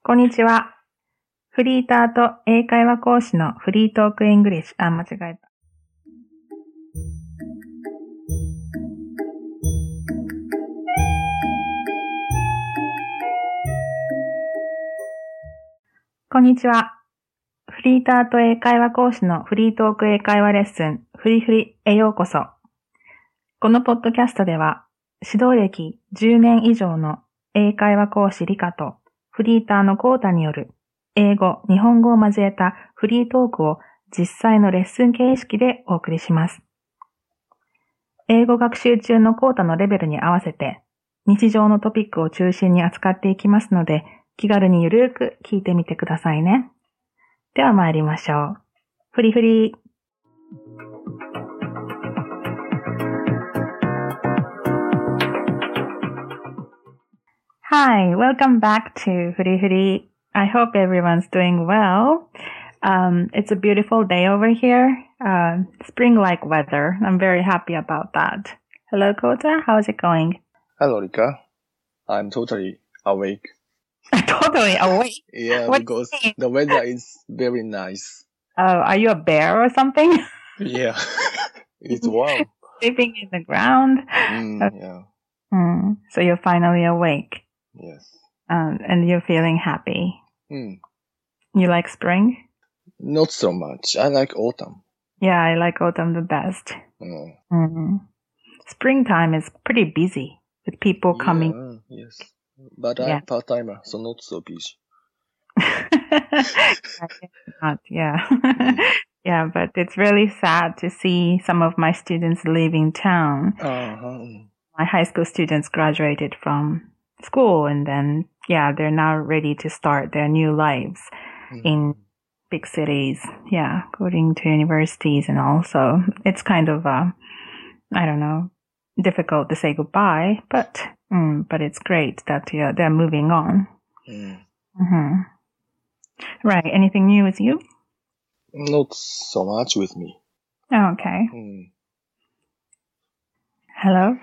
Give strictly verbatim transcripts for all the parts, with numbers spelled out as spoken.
こんにちは。フリーターと英会話講師のフリートークイングリッシュ。あ、間違えた。こんにちは。フリーターと英会話講師のフリートーク英会話レッスン、フリフリへようこそ。このポッドキャストでは、指導歴じゅうねん以上の英会話講師リカとフリーターのコータによる英語、日本語を交えたフリートークを実際のレッスン形式でお送りします。英語学習中のコータのレベルに合わせて日常のトピックを中心に扱っていきますので、気軽にゆるーく聞いてみてくださいね。では参りましょう。フリフリ。Hi, welcome back to Furi Furi. I hope everyone's doing well. Um, it's a beautiful day over here. Uh, spring-like weather. I'm very happy about that. Hello, Kota. How's it going? Hello, Rika. I'm totally awake. Totally awake? Yeah, What because do you mean? the weather is very nice. Oh, are you a bear or something? Yeah, it's warm. Sleeping in the ground? Mm, Okay. yeah, Hmm. So you're finally awake. yes. Um, and you're feeling happy. Mm, You like spring? not so much. I like autumn. Yeah, I like autumn the best. Mm. Mm. Springtime is pretty busy with people coming. Yeah, yes. But Yeah. I'm part-timer, so not so busy. Not, yeah. Mm. Yeah, but it's really sad to see some of my students leaving town. Uh-huh. My high school students graduated from school and then, yeah, they're now ready to start their new lives Mm. in big cities. Yeah, going to universities and all. So it's kind of, uh, I don't know, difficult to say goodbye, but, mm, but it's great that yeah, they're moving on. Mm. Mm-hmm. Right. Anything new with you? Not so much with me. Oh, okay. Mm. Hello?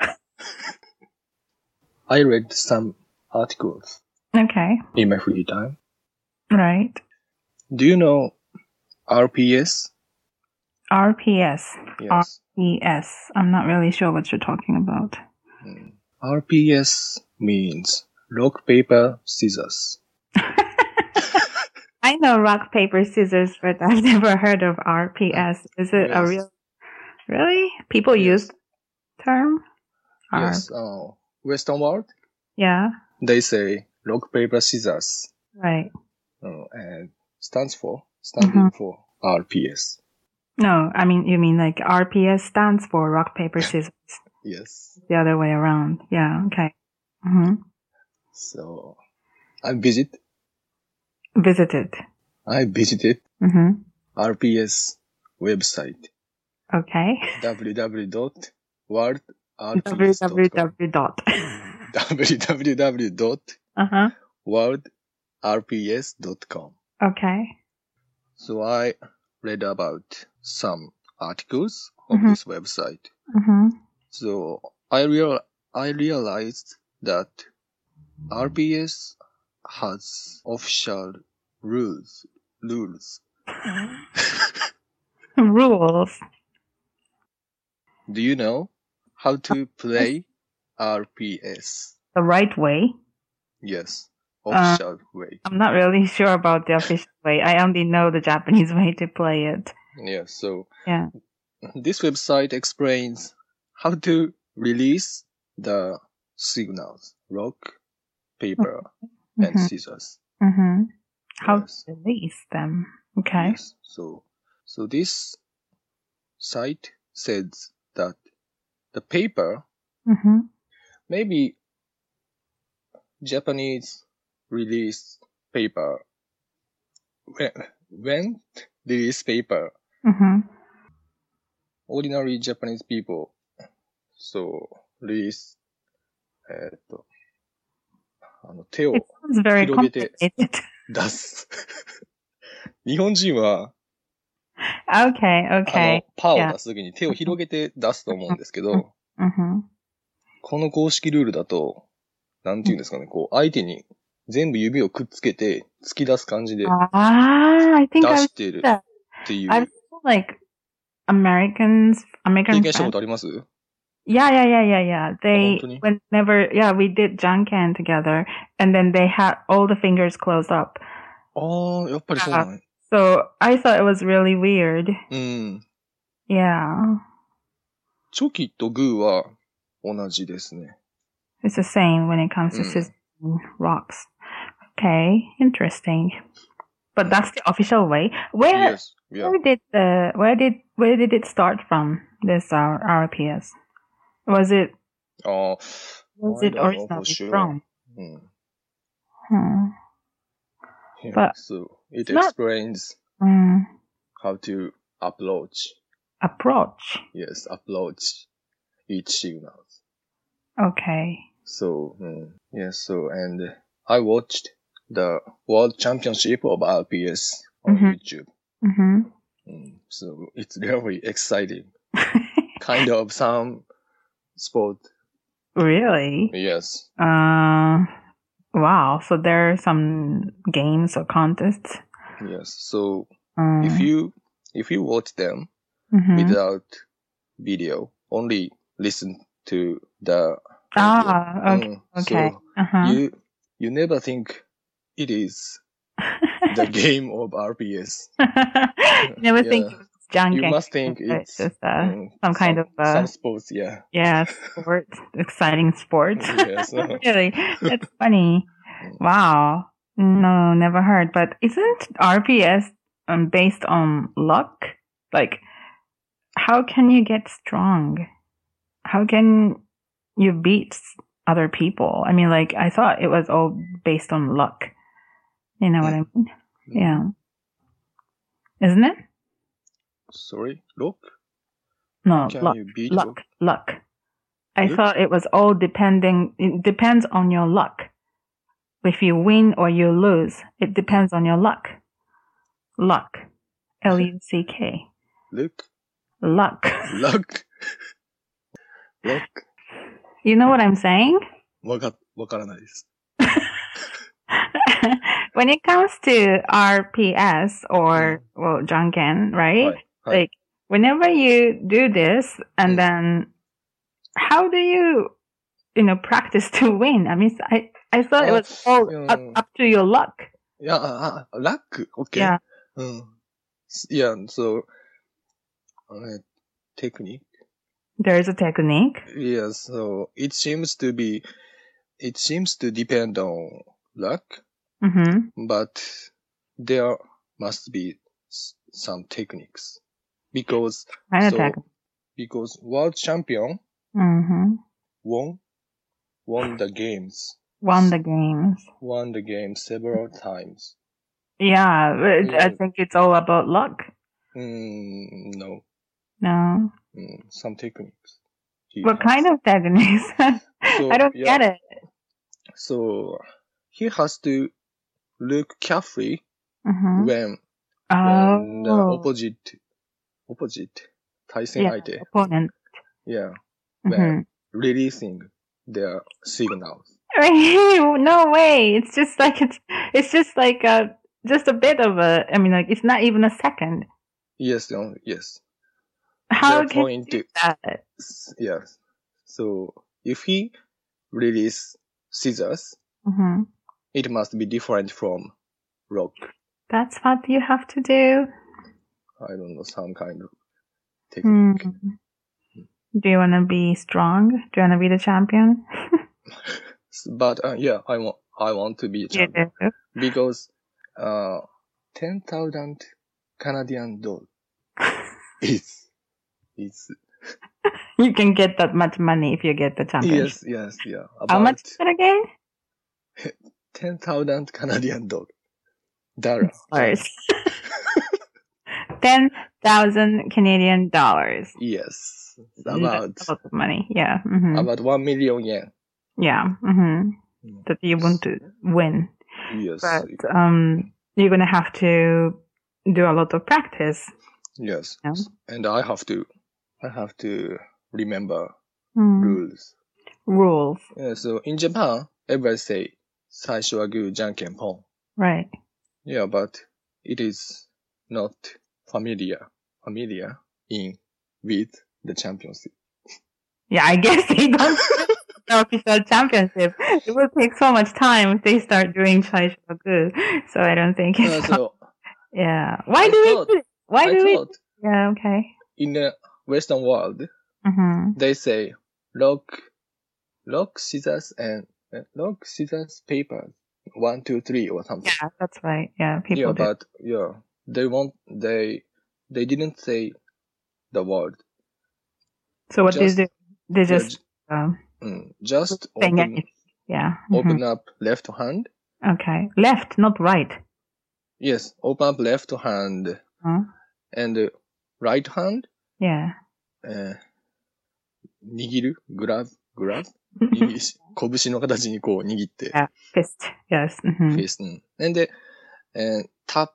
I read some articles Okay. in my free time. Right. Do you know R P S? R P S. Yes. R P S. I'm not really sure what you're talking about. Mm. R P S means rock, paper, scissors. I know rock, paper, scissors, but I've never heard of R P S. Is it a Yes. real... Really? People Yes. use the term? Or- Yes. Uh, Western world, Yeah. they say rock, paper, scissors. Right. Uh, and stands for, standing Mhm. for R P S. No, I mean, you mean like R P S stands for rock, paper, scissors. Yes. The other way around. Yeah, okay. Mm-hmm. So, I visit, Visited. I visited Mm-hmm. R P S website. Okay. w w w dot world r p s dot com. www dot. w w w dot Uh-huh. world r p s dot com. Okay. So I read about some articles of Mhm. this website. Mm-hmm. So I real I realized that R P S has official rules. Rules. Rules. Do you know how to play R P S? The right way. Yes, official way. I'm not really sure about the official way. I only know the Japanese way to play it. Yes. So Yeah. this website explains how to release the signals: rock, paper, and Mm-hmm. scissors. Mm-hmm. How Yes. to release them. Okay. Yes. So, so this site says that the paper, Mm-hmm. maybe Japanese release paper, when, when release paper, Mm-hmm. ordinary Japanese people, so release, えーっと、あの手 It を sounds very 広げて complicated. 出す。日本人は、 Okay, あ okay. の、パーを Yeah. 出すときに手を広げて出すと思うんですけど、 Mm-hmm. この公式ルールだと、なんて言うんですかね、こう、相手に全部指をくっつけて突き出す感じで Ah, I 出 think I してる that. ってい I've う。 seen like Americans, 経 American 験したこ friends. とあります？ Yeah, yeah, yeah, yeah, yeah. あ、本 They, 当に？ whenever, yeah, we did Janken together, and then they had all the fingers closed up. ああ、やっぱりそうなの？ So I thought it was really weird. うん。 Yeah. チョキとグーは同じですね。 It's the same when it comes to うん。 scissors rocks. Okay, interesting. But that's the official way. Where, Yes, yeah. where did the, where did, where did it start from? This R R P S. Was it, ああ、 was I it don't know for originally sure. from? うん。 Hmm. Yeah, But so it it's not, explains um, how to approach. approach. Yes, approach each signal. Okay. So, mm, yes, so, and I watched the World Championship of R P S on Mhm. YouTube. Mm-hmm. Mm, so it's really exciting. Kind of some sport. Really? Yes. Uh, wow. So there are some games or contests. Yes. So Um, if you, if you watch them mhm. without video, only listen to the audio. Ah, okay. Mm, Okay. so Uh-huh. you, you never think it is the game of R P S. You never think Yeah. it's junk You and must think it's it's just uh, mm, some kind some, of uh, some sports, yeah. yeah, sports, exciting sports. Yes. uh, Really, that's funny. Mm. Wow. No, never heard. But isn't R P S um, based on luck? Like, how can you get strong? How can you beat other people? I mean, like, I thought it was all based on luck. You know what I mean? Yeah. Isn't it? Sorry, luck? No, How can luck. you beat Luck. luck? Luck. I Luck? thought it was all depending, it depends on your luck. If you win or you lose, it depends on your luck. Luck. L U C K. Luck? Luck. Luck? Luck? You know what I'm saying? わか、わからないです。 When it comes to R P S or, Mm. well, Janken, は right? い。はい。 Like, whenever you do this, and Mm. then, how do you, you know, practice to win? I mean, I, I thought it Ah, was all up, mm. up to your luck. いや、あ、あ、ラック ?OK? Yeah. うん。いや、そう、uh, technique? There's a technique. Yes, so it seems to be, it seems to depend on luck, Mm-hmm. but there must be s- some techniques. Because, Kind of so, technique. because world champion Mm-hmm. won, won the games, Won the games. won the game several times. Yeah, but I Yeah. think it's all about luck. Mm, no, No. mm, some techniques. He What has. kind of techniques? So, I don't yeah. get it. So he has to look carefully Mm-hmm. when, when the Oh. opposite, opposite, 対戦 Yeah, 相手 opponent. yeah, Mm-hmm. when releasing their signals. No way. It's just like it's it's just like a just a bit of a I mean like it's not even a second. Yes, no, yes. How Their can you point, do that? yes. So if he release scissors, Mm-hmm. it must be different from rock. That's what you have to do. I don't know, some kind of technique. Mm. Do you want to be strong? Do you want to be the champion? But uh, yeah, I want I want to be a You champion do. because uh, ten thousand Canadian dollars is is You can get that much money if you get the championship. yes yes yeah How much about is it again? ten thousand Canadian dollars. Dollar. Dollars. Ten thousand Canadian dollars. Yes, That's about a lot of money. Yeah. Mm-hmm. about one million yen. Yeah. Mm-hmm. Mm. That you want to win. Yes, But um, you're gonna have to do a lot of practice. yes, Yeah. and I have to I have to remember Mm. rules. Rules. Yeah, so in Japan, everybody say 最初はグー、じゃんけんぽん. Right. Yeah, but it is not familiar, familiar in with the championship. Yeah, I guess they don't the official championship. It will take so much time if they start doing Chaishoku. So I don't think Uh, it's so yeah. Why I do thought, we do it? Why I do we thought Yeah, okay. in the Western world, Mm-hmm. they say rock, rock, scissors, and uh, rock, scissors, paper, one, two, three, or something. Yeah, that's right. Yeah, people yeah, do. but yeah, they want they they didn't say the word. So what Just they do? They yeah, just j- um, mm, just saying open anything. Yeah. mhm. open up left hand. Okay. Left, not right. Yes, open up left hand Huh? and uh, right hand. Yeah. えー握るグラブグラブ握りし拳の形にこう握って、 Yeah. Fist. Yes. フ mhm. ェイス、うん。And then, and tap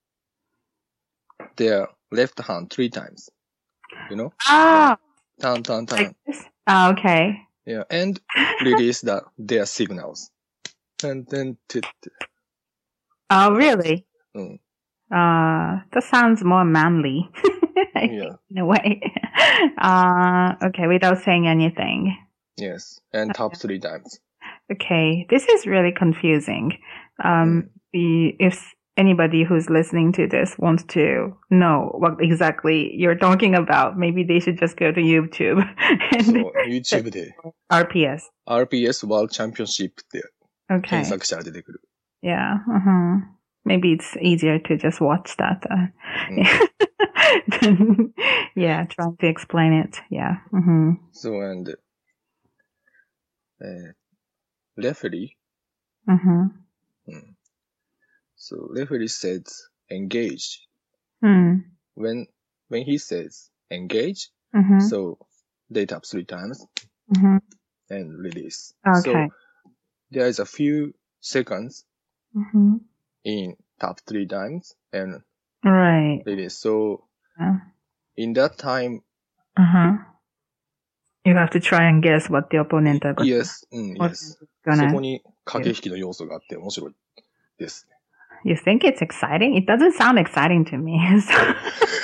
their left hand three times. You know? Ah, Turn, turn, turn. like this. Ah, okay. Yeah. And release the, their signals. And then, t- t- Oh, really? うん。 Uh, that sounds more manly. I think, Yeah. in a way. Uh, okay, without saying anything. Yes. And tap three times. Okay, this is really confusing. Um, Mm. the, if anybody who's listening to this wants to know what exactly you're talking about, maybe they should just go to YouTube そ and う、YouTube で R P S. アールピーエス World Championship って検 Okay. 索したら出てくる。 Yeah. Uh-huh. Maybe it's easier to just watch that. Uh, うん than, yeah, trying to explain it. Yeah. Mm-hmm. So, and, えー、referee, Mm-hmm. うん。So, referee says engage. Mm. When, when he says engage, Mm-hmm. so they tap three times Mm-hmm. and release. Okay. So, there is a few seconds Mm-hmm. in tap three times and Right. release. So, Yeah. in that time, Uh-huh. You have to try and guess what the opponent are going yes, うん、 what yes. is そ gonna. こに駆け引きの要素があって面白いです。 You think it's exciting? It doesn't sound exciting to me. So-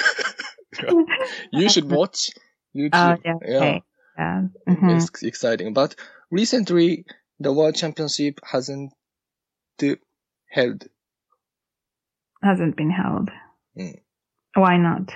You should watch YouTube. Oh, yeah. Okay. Yeah. Mhm. It's exciting. But recently, the World Championship hasn't held. Hasn't been held. Mm. Why not?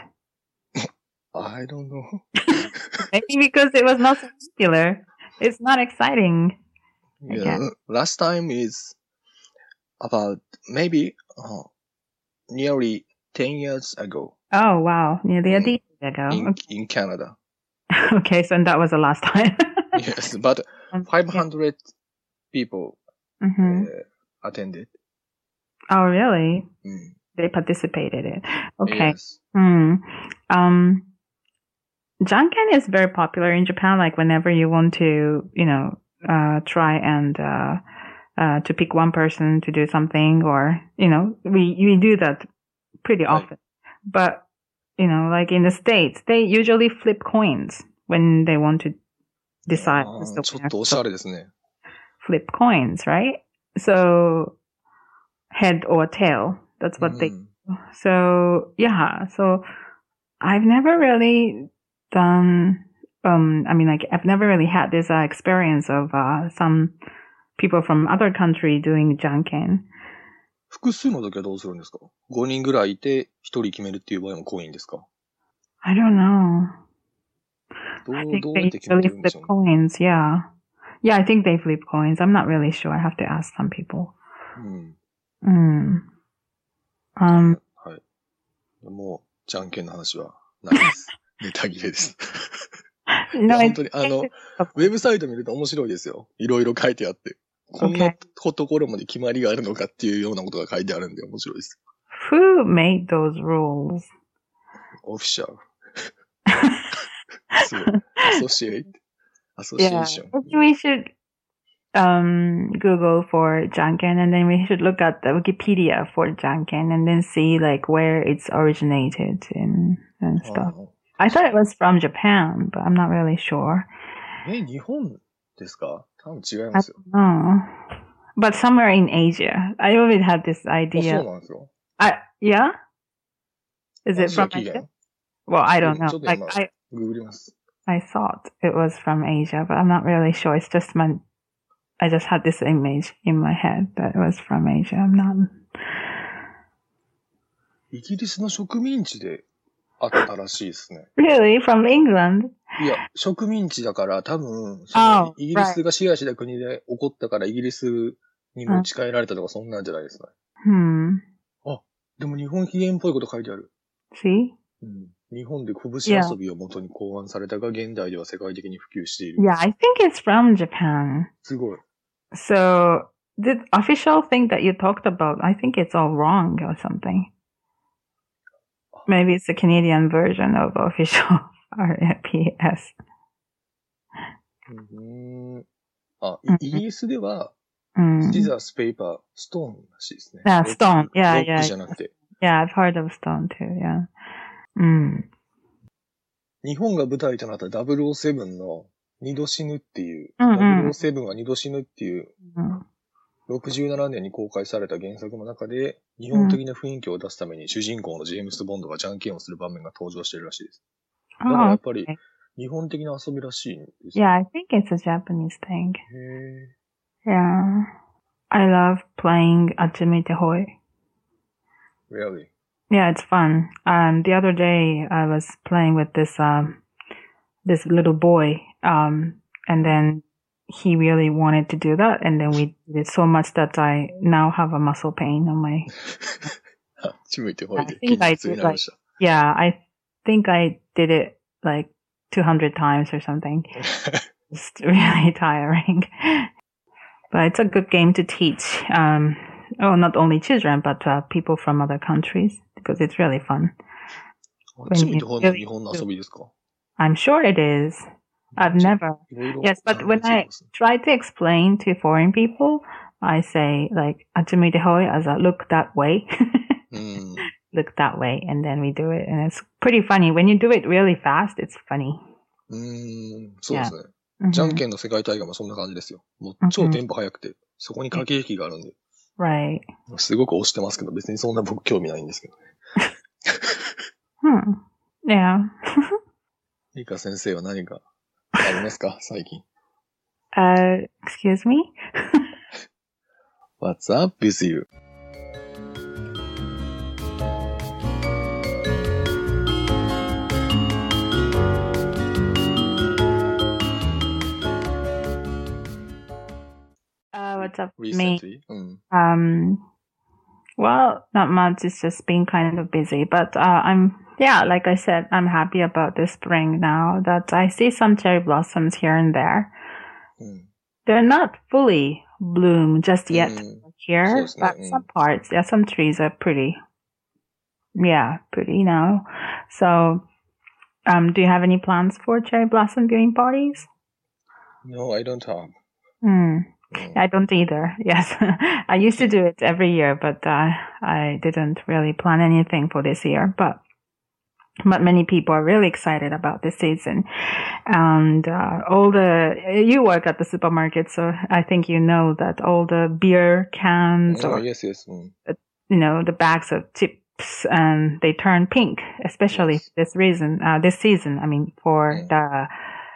I don't know. Maybe because it was not so popular. It's not exciting. I Yeah. guess. Last time is about maybe uh, nearly ten years ago Oh, wow. Nearly a Mm. decade ago. in, in Canada. Okay, so that was the last time. Yes, but Um, five hundred people yeah. Mhm. uh, attended. Oh, really? Mm. They participated in. Okay. Yes. Hmm. Um, Janken is very popular in Japan. Like whenever you want to, you know, uh, try and uh, uh, to pick one person to do something, or you know, we we do that pretty Right. often. But you know, like in the States, they usually flip coins when they want to decide あ who's ー the ちょっ winner. とおしゃれですね。 Flip coins, right? So head or tail. That's what they. うん So yeah. So I've never really done. Um, I mean, like I've never really had this uh, experience of uh, some people from other country doing janken. 複数の時はどうするんですか ?ご 人ぐらいいてひとり決めるっていう場合もコインですか I don't know. ど I う、 think どうやっ they て決め usually てるんで flip しょうね。 coins. Yeah. Yeah, I think they flip coins. I'm not really sure. I have to ask some people. うん。 Mm. Um. はい。もう、じゃんけんの話はないです。ネタ切れです。い No, や、本 it's, 当に、あの、 it's ウェブサイト見ると面白いですよ。いろいろ書いてあって。こんな okay. ところまで決まりがあるのかっていうようなことが書いてあるんで面白いです。 Who made those rules? オフィシャル。そう。アソシエイト。アソシエ Yeah, ーション。 maybe we should um Google for janken, and then we should look at the Wikipedia for janken, and then see like where it's originated and and あ stuff. ー I thought it was from Japan, but I'm not really sure. え、日本ですか多分違い I ますよ。 don't know. but somewhere in Asia. I always had this あ、そう idea. なんですよ。 I, yeah? Is ア it ジア from 起 Asia? 源 Well, I う don't ん、 know. ちょっと Like, 今、 I, ググります。 I thought it was from Asia, but I'm not really sure. It's just my, I just had this image in my head that it was from Asia. I'm not. イギリスの植民地であったらしいですね。 Really? From England? いや、植民地だから多分、その Oh, イギリ right. スが支配した国で起こったからイギリスに持ち帰られたとかそんなんじゃないですかね。 Hmm. あ、でも日本起源っぽいこと書いてある。 See? うん、日本で拳 Yeah. 遊びを元に考案されたが、現代では世界的に普及している。 Yeah, I think it's from Japan. すごい。 So, the official thing that you talked about, I think it's all wrong or something. Maybe it's the Canadian version of official R P S. うーん。あ、 うんイギリスでは、 Mm. シザース、ペーパー、ストーンらしいですね。 Yeah, ロック stone. Yeah, ロック yeah. じゃなくて。 Yeah, I've heard of stone too, yeah. Mm. 日本が舞台となったダブルオーセブンの二度死ぬっていう、 うんうんダブルオーセブンは二度死ぬっていう、 Mm. ろくじゅうななねんに公開された原作の中で、日本的な雰囲気を出すために主人公のジェームス・ボンドがじゃんけんをする場面が登場しているらしいです。だからや Oh, っぱり okay. 日本的な遊びらしいんです。 Yeah, I think it's a Japanese thing. へ Yeah. I love playing Ajimite Hoi. ー。Really? Yeah, it's fun. Um, the other day I was playing with this, um, this little boy, um, and then he really wanted to do that, and then we did it so much that I now have a muscle pain on my. あ、ちむいてほい I で think 筋 I 肉痛に did なりま like, した。 yeah, I think I did it like two hundred times or something. It's really tiring. But it's a good game to teach, um, oh, not only children, but uh, people from other countries, because it's really fun. あ、ちむいてほいも日本の遊びですか？ I'm sure it is. I've never. いろいろ Yes, but 関 when 連ついて I ますね。 try to explain to foreign people, I say like "Ajimite hoi" as a look that way, うん。 look that way, and then we do it, and it's pretty funny. When you do it really fast, it's funny. うーん、そうですね。 Mhm. じゃんけんの世界大会もそんな感じですよ。もう超テンポ速くて、そこに駆け引きがあるんで、 Right. すごく押してますけど、別にそんな僕興味ないんですけどね。 Hmm. Yeah. リカ先生は何かありますか最近。 Uh, excuse me? What's up with you? Uh, what's up with me? Recently? うん。 Um, well, not much. It's just been kind of busy, but uh, I'm, yeah, like I said, I'm happy about the spring now that I see some cherry blossoms here and there. うん。 They're not fully bloom just yet Mm. here, So, but mm. some parts, yeah, some trees are pretty, yeah, pretty now. So, um, do you have any plans for cherry blossom viewing parties? No, I don't have. Hmm. うん I don't either. Yes. I used to do it every year, but uh, I didn't really plan anything for this year. But but many people are really excited about this season. And uh, all the, you work at the supermarket, so I think you know that all the beer cans Oh, or, yes, yes. うん。 you know, the bags of chips, and they turn pink, especially Yes. this reason, uh, this season, I mean, for Mm. the,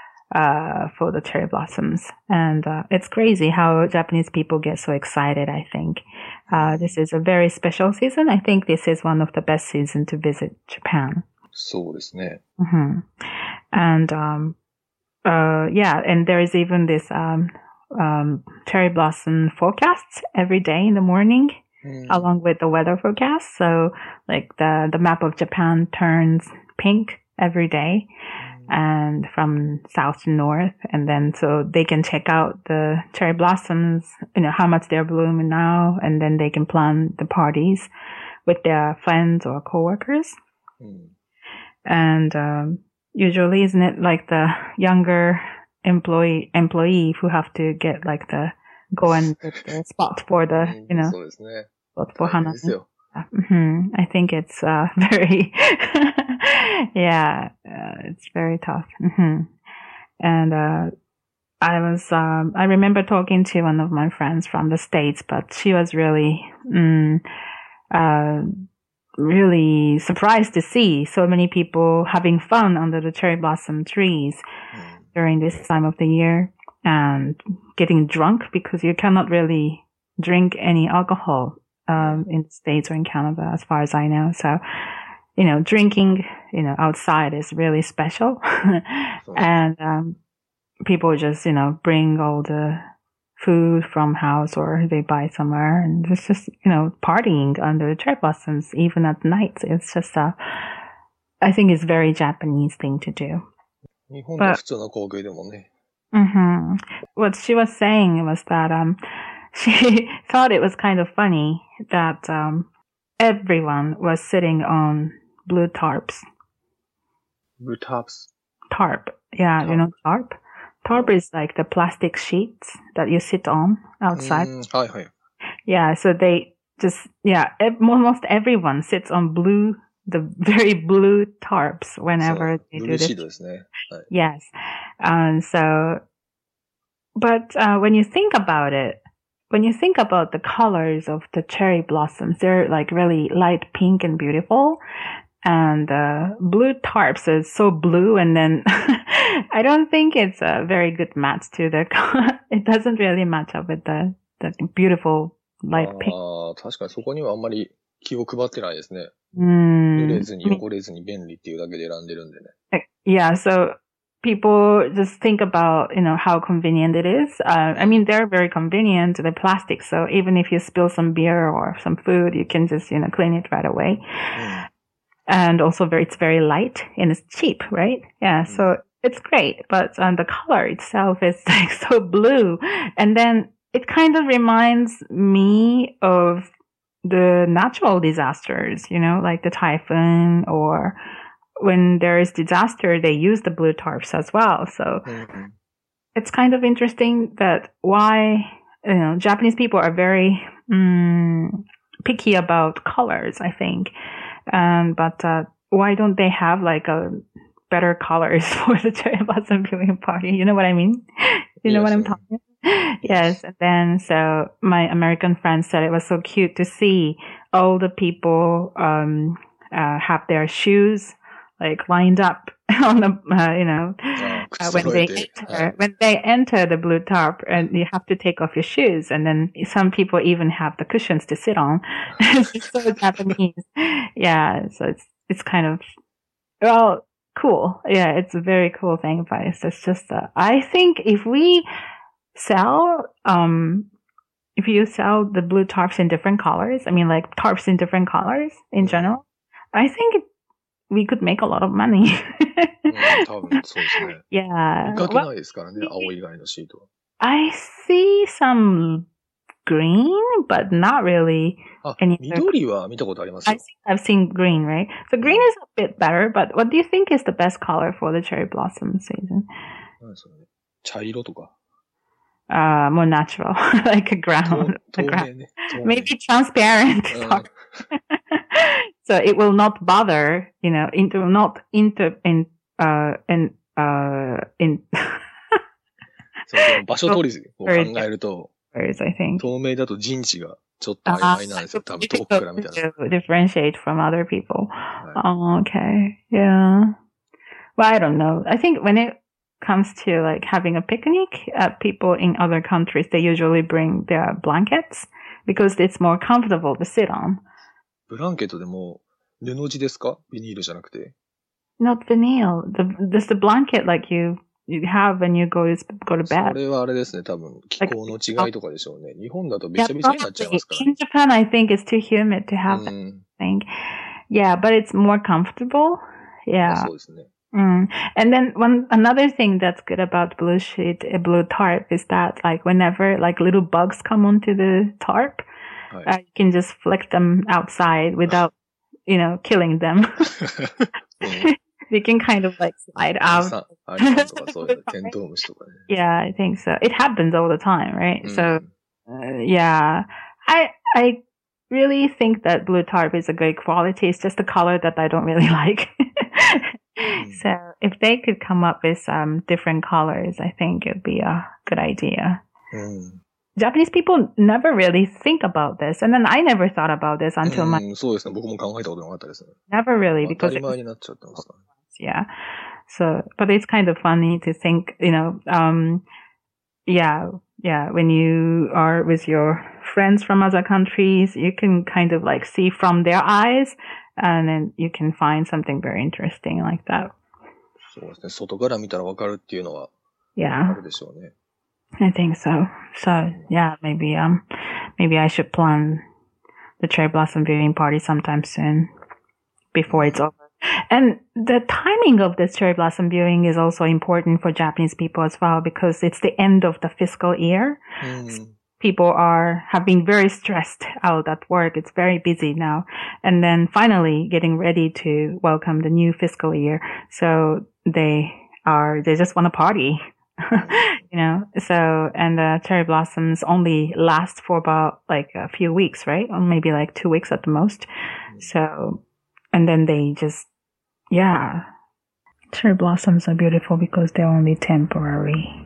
uh, for the cherry blossoms. And, uh, it's crazy how Japanese people get so excited, I think. Uh, this is a very special season. I think this is one of the best seasons to visit Japan. そうですね。 hmm And, um, uh, yeah, and there is even this, um, um, cherry blossom forecasts every day in the morning, うん。 along with the weather forecast. So, like, the, the map of Japan turns pink every day, and from south to north. And then, so they can check out the cherry blossoms, you know, how much they're blooming now, and then they can plan the parties with their friends or coworkers. うん。 And, um, usually, isn't it like the younger employee, employee who have to get like the, go and get the spot for the, うん you know, そうですね。 spot for 大変 Hana. ですよ。 hmm I think it's, uh, very, yeah, uh, it's very tough. hmm And, uh, I was, um, I remember talking to one of my friends from the States, but she was really, mm, uh, really surprised to see so many people having fun under the cherry blossom trees Mm. during this time of the year and getting drunk because you cannot really drink any alcohol, um, in the States or in Canada, as far as I know. So, you know, drinking, you know, outside is really special. And, um, people just, you know, bring all the food from house or they buy somewhere and it's just, you know, partying under the cherry blossoms, even at night. It's just a, I think it's a very Japanese thing to do. 日本では普通の光景でもね。 Mm-hmm. What she was saying was that, um, she thought it was kind of funny that, um, everyone was sitting on blue tarps. Blue tarps? Tarp. Yeah, Tarp. you know tarp? Tarp is like the plastic sheets that you sit on outside. うん、はいはい。 Yeah, so they just, yeah, ev- almost everyone sits on blue, the very blue tarps whenever そう、 they ブ do ルーシ this. ートですね。はい。 Yes. Um, so, but uh, when you think about it, when you think about the colors of the cherry blossoms, they're like really light pink and beautiful. And uh, blue tarps is so blue, and then I don't think it's a very good match to the. It doesn't really match up with the the beautiful light pink. ああ、確かにそこにはあんまり気を配ってないですね。 Mm. 濡れずに汚れずに便利っていうだけで選んでるんでね。 Yeah, so people just think about, you know, how convenient it is. Uh, I mean, they're very convenient, the plastic. So even if you spill some beer or some food, you can just, you know, clean it right away. うん。 And also very, it's very light and it's cheap, right? Yeah, so it's great. But um, the color itself is like so blue. And then it kind of reminds me of the natural disasters, you know, like the typhoon, or when there is disaster, they use the blue tarps as well. So うんうん。 it's kind of interesting that why, you know, Japanese people are very um, picky about colors, I think. Um, but uh, why don't they have like a better colors for the cherry blossom viewing party? You know what I mean? You know Yes, what I'm I- talking about? Yes. And then so my American friend said it was so cute to see all the people um, uh, have their shoes like lined up on the, uh, you know, ああ、 uh, 靴 when 揃え they て。 enter, はい。 when they enter the blue tarp, and you have to take off your shoes, and then some people even have the cushions to sit on. It's so Japanese. Yeah, so it's it's kind of, well, cool. Yeah, it's a very cool thing, but it's just, just uh, I think if we sell, um, if you sell the blue tarps in different colors, I mean like tarps in different colors in Mhm. general, I think it, we could make a lot of money. うん、多分そうですね。 Yeah. 見かけ Well, ないですからね、青以外のシートは。 I see some green, but not really あ any、 緑は見たことあります I よ。 think I've seen green, right? So green is a bit better, but what do you think is the best color for the cherry blossom season? 何それね。茶色とか。 Uh, more natural, like a 透 ground. 透 a ground. 明ね。透明。 Maybe transparent. うん。 So it will not bother, you know, it will not inter, in, uh, in, uh, in, そうでも場所取りを考えると、 I think. 透明だと陣地がちょっと曖昧なんですよ。多分遠くから見たら。 to differentiate from other people. はい Oh, okay. Yeah. Well, I don't know. I think when it comes to like having a picnic, uh, people in other countries, they usually bring their blankets because it's more comfortable to sit on. ブランケットでも布地ですか？ビニールじゃなくて。 Not vinyl. The, there's the blanket like you, you have when you go to, go to そ bed. れはあれですね。多分気候の違いとかでしょうね。日本だとべ Yeah, ちゃべちゃになっちゃい probably. ますからね In。Japan, I think it's too humid to have う that ん。 thing. Yeah, but it's more comfortable. まあ Yeah. そうですね。 Mm. And then one another thing that's good about blue sheet, uh, blue tarp is that like whenever like little bugs come onto the tarp, はい。 uh, you can just flick them outside without, you know, killing them. うん。 They can kind of like slide アリ out. さん、アリさんとかそういうテントウムシとかね。 Yeah, I think so. It happens all the time, right? う So ん。 uh, yeah, I I really think that blue tarp is a great quality. It's just the color that I don't really like. So if they could come up with some different colors, I think it would be a good idea. うん。 Japanese people never really think about this. And then I never thought about this until my, うん、そうですね。僕も考えたことなかったですね。 never really 当た because り it 前 was, になっちゃってますからね。 yeah. So, but it's kind of funny to think, you know, um, yeah, yeah, when you are with your friends from other countries, you can kind of like see from their eyes and then you can find something very interesting like that. そうですね。外から見たらわかるっていうのはあ Yeah, るでしょうね。 I think so. So, yeah, maybe, um, maybe I should plan the cherry blossom viewing party sometime soon before it's over. And the timing of this cherry blossom viewing is also important for Japanese people as well because it's the end of the fiscal year. うん。 People are have been very stressed out at work. It's very busy now. And then finally getting ready to welcome the new fiscal year. So they are, they just want to party, you know? So, and the cherry blossoms only last for about like a few weeks, right? Or maybe like two weeks at the most. So, and then they just, yeah. Cherry blossoms are beautiful because they're only temporary.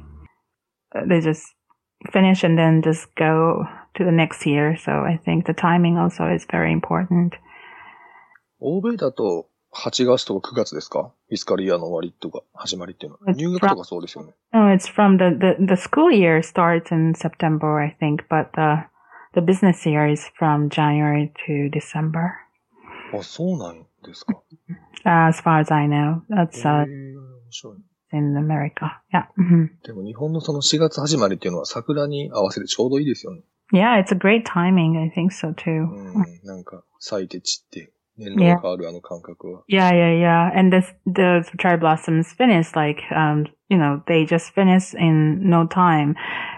They just finish and then just go to the next year. So I think the timing also is very important. 欧米だとはちがつとかくがつですか？フィスカルイヤーの終わりとか始まりっていうのは。 It's 入学 from, とかそうですよね。 no, it's from the, the, the school year starts in September, I think, but the, the business year is from January to December. あ、そうなんですか。 Uh, as far as I know, へ that's え、 uh, 面白い。 in America. Yeah. Mm-hmm. でも日本のそのしがつ始まりっていうのは桜に合わせてちょうどいいですよね。 Yeah, it's a great timing. I think so too. うん、なんか咲いて散って年度が変わるあの感覚は。 Yeah, yeah, yeah. And this, the cherry blossoms finish like, um, you know, they just finish in no time.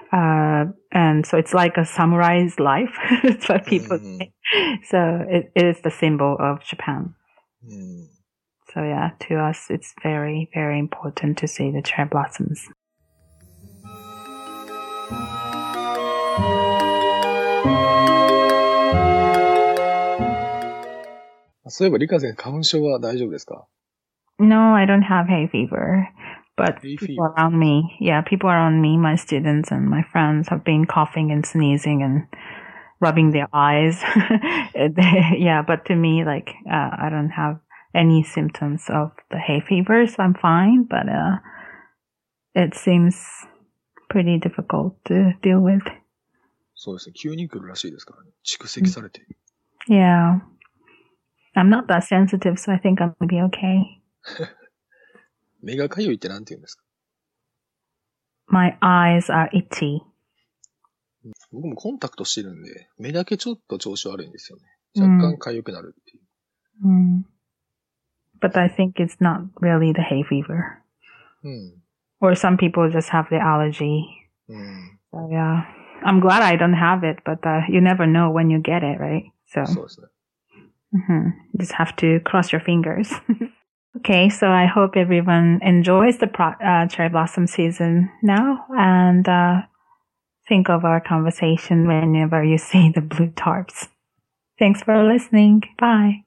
Uh, and so it's like a samurai's life. That's what people Mhm. say. So it, it is the symbol of Japan. うん、 So yeah, to us, it's very, very important to see the cherry blossoms. そういえばリカさん花粉症は大丈夫ですか？ No, I don't have hay fever, but Hay people fever. around me, yeah, people around me, my students and my friends have been coughing and sneezing and rubbing their eyes. Yeah, but to me, like, uh, I don't have any symptoms of the hay fever, so I'm fine, but, uh, it seems pretty difficult to deal with. そうですね。急に来るらしいですからね。蓄積されて。 Yeah. I'm not that sensitive, so I think I'm gonna be okay. 目がかゆいってなんて言うんですか？ My eyes are itchy. 僕もコンタクトしてるんで、目だけちょっと調子悪いんですよね。若干かゆくなるっていう。 Mm. But I think it's not really the hay fever. うん。 Or some people just have the allergy. うん。 So yeah. I'm glad I don't have it, but uh, you never know when you get it, right? So そうですね。 mhm. You just have to cross your fingers. Okay, so I hope everyone enjoys the pro- uh, cherry blossom season now and uh, think of our conversation whenever you see the blue tarps. Thanks for listening. Bye.